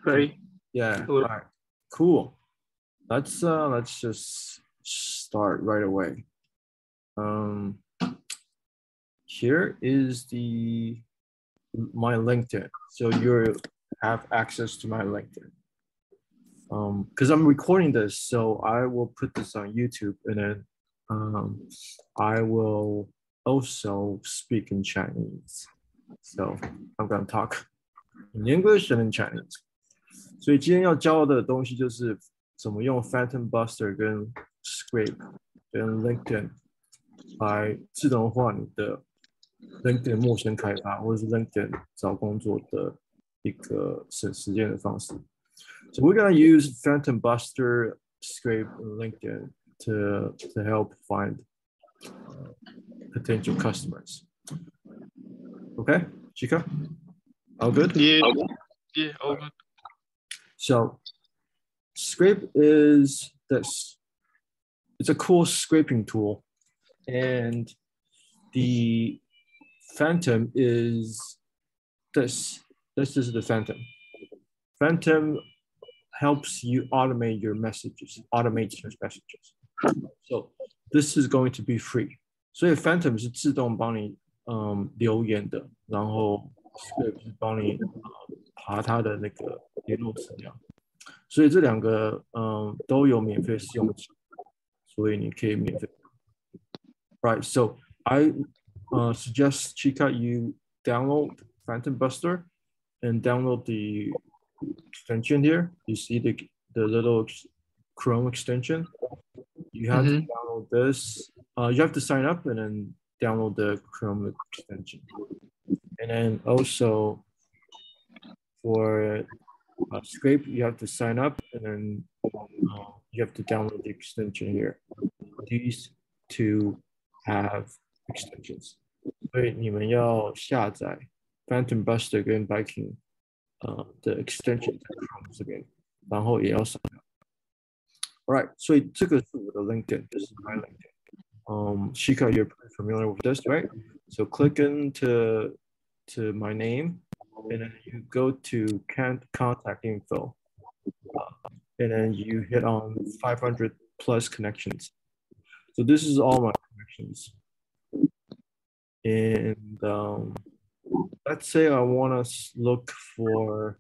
Ready? Yeah. All right. Cool. Let's just start right away. Here is my LinkedIn. So you have access to my LinkedIn. Because I'm recording this, so I will put this on YouTube, and then I will also speak in Chinese. So I'm gonna talk in English and in Chinese. 所以今天要教的東西就是怎麼用 Phantom Buster 跟 Scrape 跟 LinkedIn 來自動化你的 LinkedIn 陌生開發或者是 LinkedIn 找工作的一個省時間的方式。So we're going to use Phantom Buster, Scrape, and LinkedIn to help find potential customers. Okay, Chica? All good? Yeah, all good. So Scrape is this. It's a cool scraping tool. And the Phantom is this. This is the Phantom. Phantom helps you automate your messages, automate your messages. So this is going to be free. 所以 Phantom 是自動幫你留言的，然後 Scrape 是幫你爬它的那個聯絡資料。所以這兩個都有免費試用期，所以你可以免費。Right, so I suggest Chica you download Phantom Buster and download the extension here. You see the little Chrome extension. You have to download this. You have to sign up and then download the Chrome extension. And then also for Scrape, you have to sign up and then you have to download the extension here. These two have extensions. 所以你们要下載 Phantom Buster 跟 Viking 的 extension 在 Chrome 這邊，然後也要上。Alright, 所以這個是我的 LinkedIn, this is my LinkedIn. Chica, you're pretty familiar with this, right? So click into my name, and then you go to contact info, and then you hit on 500 plus connections. So this is all my connections. And let's say I want to look for,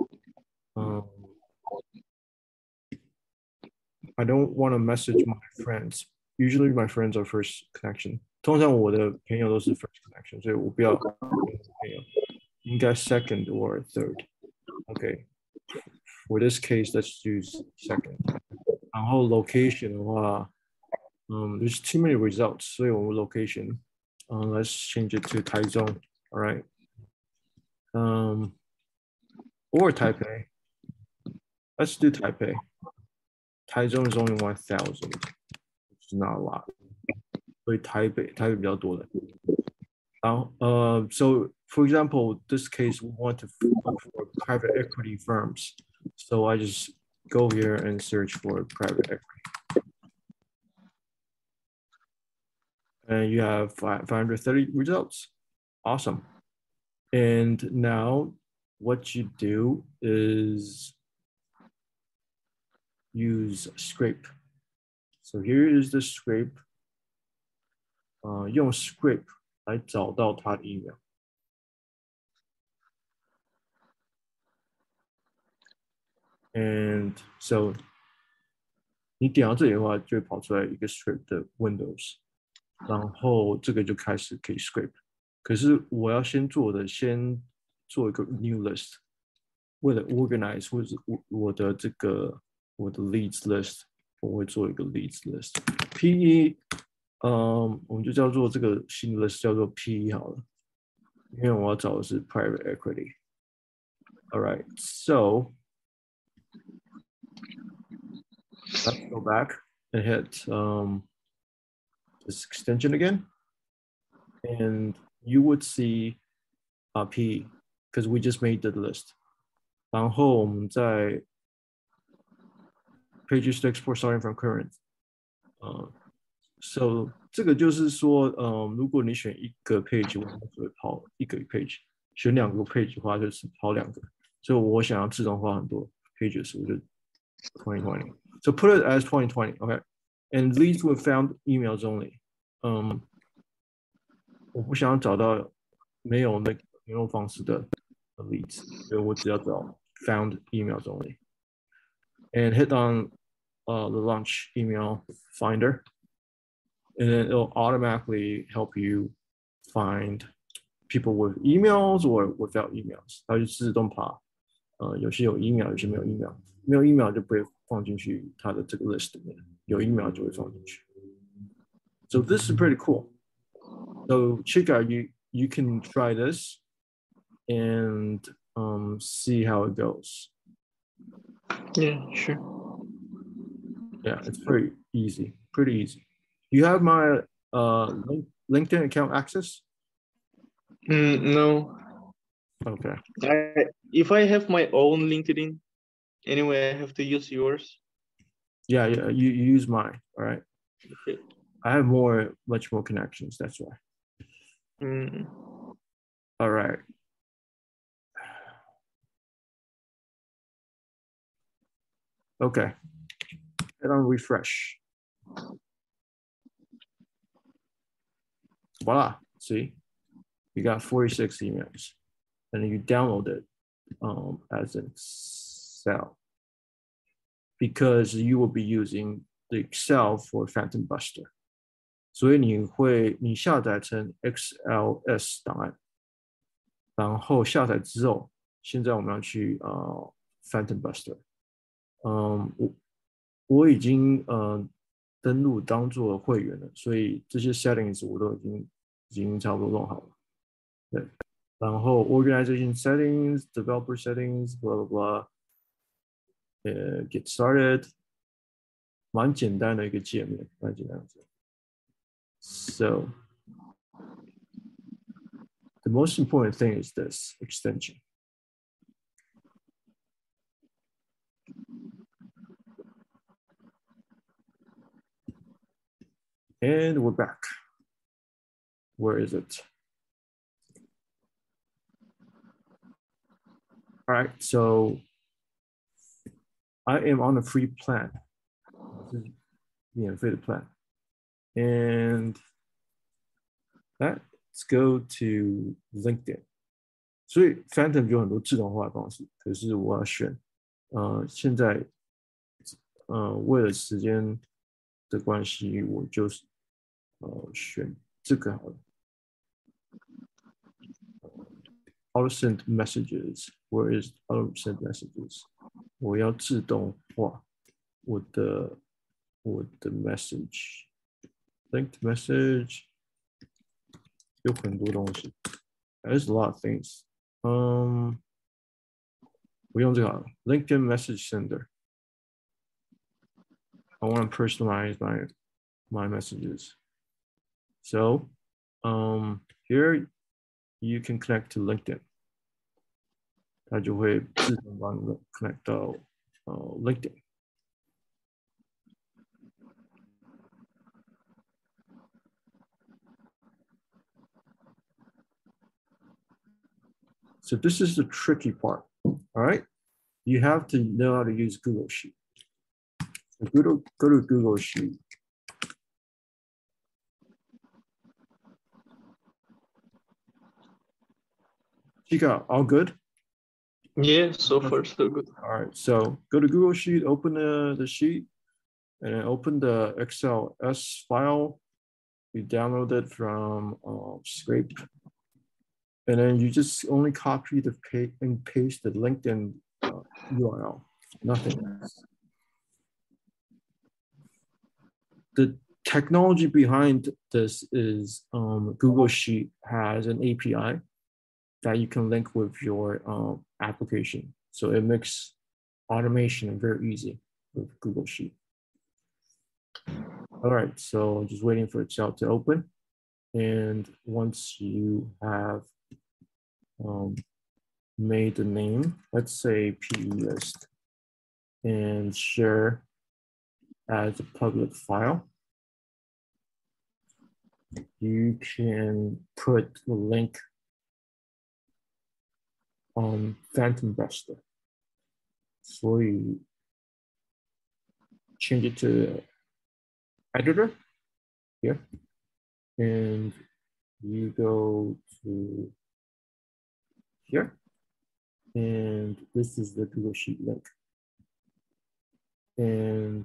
I don't want to message my friends. Usually my friends are first connection. 通常我的朋友都是 first connection, 所以我不要朋友，應該 second or third. Okay. For this case, let's use second. 然後 location 的話there's too many results, 所以我們 location, let's change it to Taichung, all right? Or Taipei. Let's do Taipei. Taichung is only 1,000, which is not a lot. 所以台北比較多的。So for example, this case, we want to look for private equity firms. So I just go here and search for private equity. And you have 530 results. Awesome. And now what you do is use Scrape. So here is the Scrape. 用 Scrape 來找到他的 email. And so 你點到這裡的話，就會跑出來一個 Scrape 的 Windows. 然後這個就開始可以 Scrape. 可是我要先做一個 new list. 為了 organize 或者我的 leads list, 我會做一個 leads list. P1 我們就叫做這個新的 list 叫做 P1 好了，因為我要找的是 private equity. All right, so let's go back and hit this extension again, and you would see P because we just made the list. 然後我們在 pages to export starting from current. So 這個就是說，如果你選一個 page， 我們只會跑一個 page；選兩個 page 的話，就是跑兩個。 所以我想要自動化很多 pages，我就 2020. So put it as 2020, okay? And leads were found emails only. 我不想要找到没有那个联絡方式的 leads，所以我只要找 found emails only. And hit on the launch email finder, and then it'll automatically help you find people with emails or without emails. 它就自动爬，有些有 email， 有些没有 email， 没有 email 就不会放進去它的這個 list 裡面，有 email 就會放進去。So this is pretty cool. So check out, you can try this and see how it goes. Yeah, sure. Yeah, it's pretty easy. You have my LinkedIn account access? No. Okay. If I have my own LinkedIn, anyway, I have to use yours. Yeah, you use mine, all right? Okay. I have much more connections, that's why. All right. Okay. Hit on refresh. Voila. See, you got 46 emails, and then you download it as an Excel because you will be using the Excel for Phantom Buster. 所以你下載成 XLS 檔案，然後下載之後，現在我們要去Phantom Buster。我已經登錄當做會員了，所以這些 settings 我都已經差不多弄好了。對，然後 organization settings, developer settings, blah blah blah. Get started. 蠻簡單的一個界面，蠻簡單的。So the most important thing is this extension. And we're back. Where is it? All right, so I am on a free plan. This is the free plan. And let's go to LinkedIn. 所以 Phantom 有很多自動化的方式，可是我要選，現在為了時間的關係，我就是選這個好了。Auto send messages. Where is auto send messages? 我要自動化我的 message. Linked message 有很多東西。There's a lot of things. 我用這個好了 LinkedIn message sender. I want to personalize my messages. So here you can connect to LinkedIn. 它就會自動幫你 connect 到LinkedIn. So this is the tricky part, all right? You have to know how to use Google Sheet. So go to Google Sheet. Chica, all good? Yeah, so far so good. All right, so go to Google Sheet, open the sheet, and then open the XLS file. You download it from Scrape. And then you just only copy and paste the LinkedIn URL, nothing else. The technology behind this is Google Sheet has an API that you can link with your application. So it makes automation very easy with Google Sheet. All right, so just waiting for Excel to open. And once you have made the name, let's say PE list, and share as a public file, you can put the link Phantom Buster. 所以 change it to editor here, and you go to here, and this is the Google Sheet link. And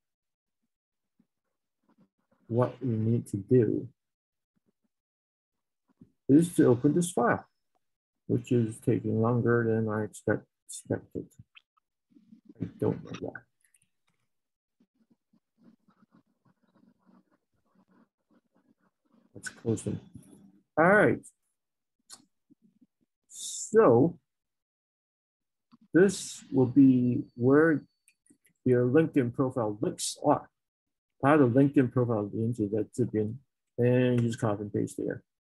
what we need to do is to open this file, which is taking longer than I expected. I don't know why. Let's close them. All right. So this will be where your LinkedIn profile links are. 它的 LinkedIn profile 连接在这邊 and just copy and paste there.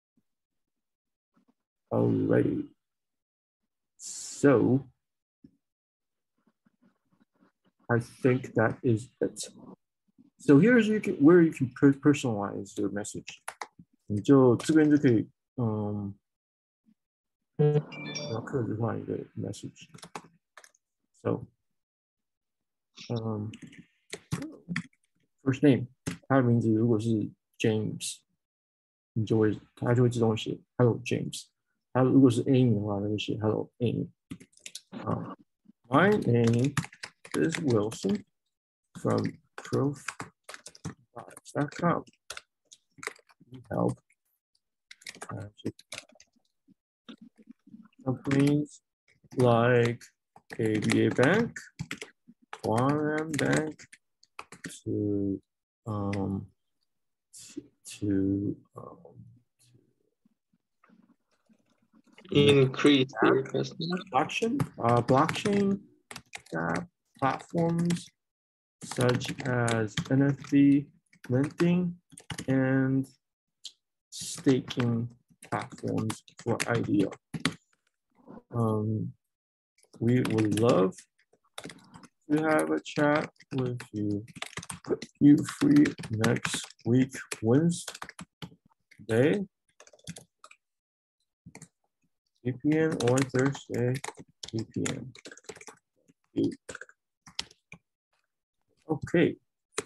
Alrighty. So I think that is it. So here's where you can personalize your message. 你就这邊就可以要客製化一個 message. So first name 它的名字如果是 James， 它就會自動寫 Hello James。它如果是 Amy 的話，它就寫 Hello Amy。My name is Wilson from Profvibes.com. We help companies like ABA Bank, Quantum Bank to increase their customer blockchain platforms such as NFT, minting, and staking platforms for IDO. We would love to have a chat with you. You free next week, Wednesday, 3 p.m. or Thursday, 3 p.m. Okay.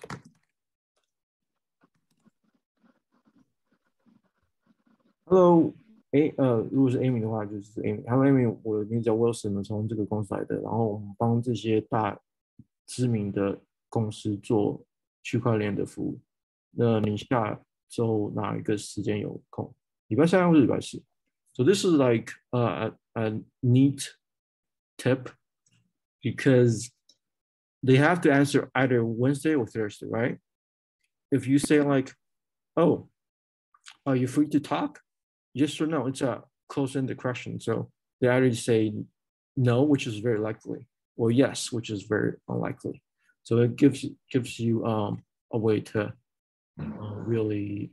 Hello, 如果是 Amy 的话，就是 Amy。Hello Amy， 我的名字叫 Wilson， 从这個公司來的。然後我們幫這些大知名的公司做區塊鏈的服務。那你下週哪一個時間有空？禮拜三或者禮拜四？ So this is like a neat tip because they have to answer either Wednesday or Thursday, right? If you say like, oh, are you free to talk? Yes or no, it's a close-ended question. So they either say no, which is very likely, or yes, which is very unlikely. So it gives you a way to really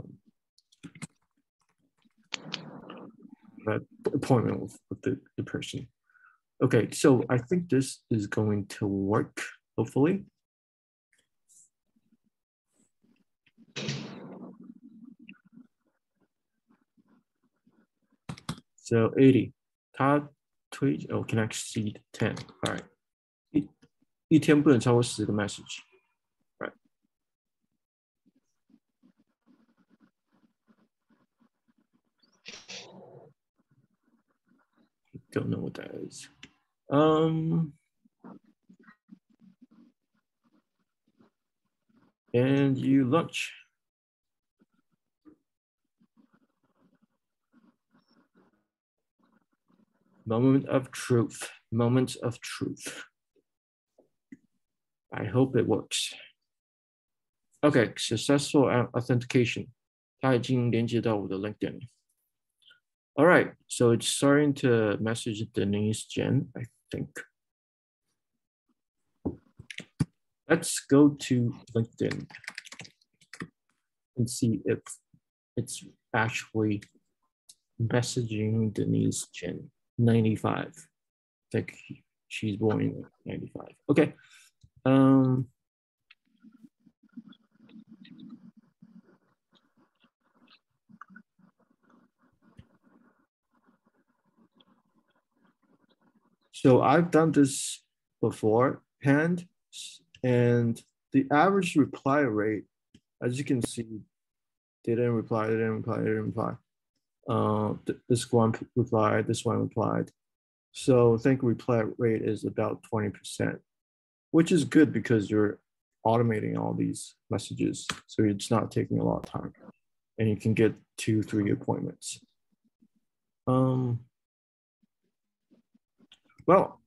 have an appointment with the person. Okay, so I think this is going to work, hopefully. So 80, 它推can exceed 10. All right. 一天不能超過10個 message. Right. I don't know what that is. And you lunch. Moment of truth. Moment of truth. I hope it works. Okay, successful authentication. 它已經連接到我的 LinkedIn. All right, so it's starting to message Denise Jen, I think. Let's go to LinkedIn and see if it's actually messaging Denise Jen, 95. I think she's born in 95. Okay. So I've done this beforehand, and the average reply rate, as you can see, they didn't reply, they didn't reply, they didn't reply. This one replied, this one replied. So I think reply rate is about 20%, which is good because you're automating all these messages. So it's not taking a lot of time and you can get 2-3 appointments. Well,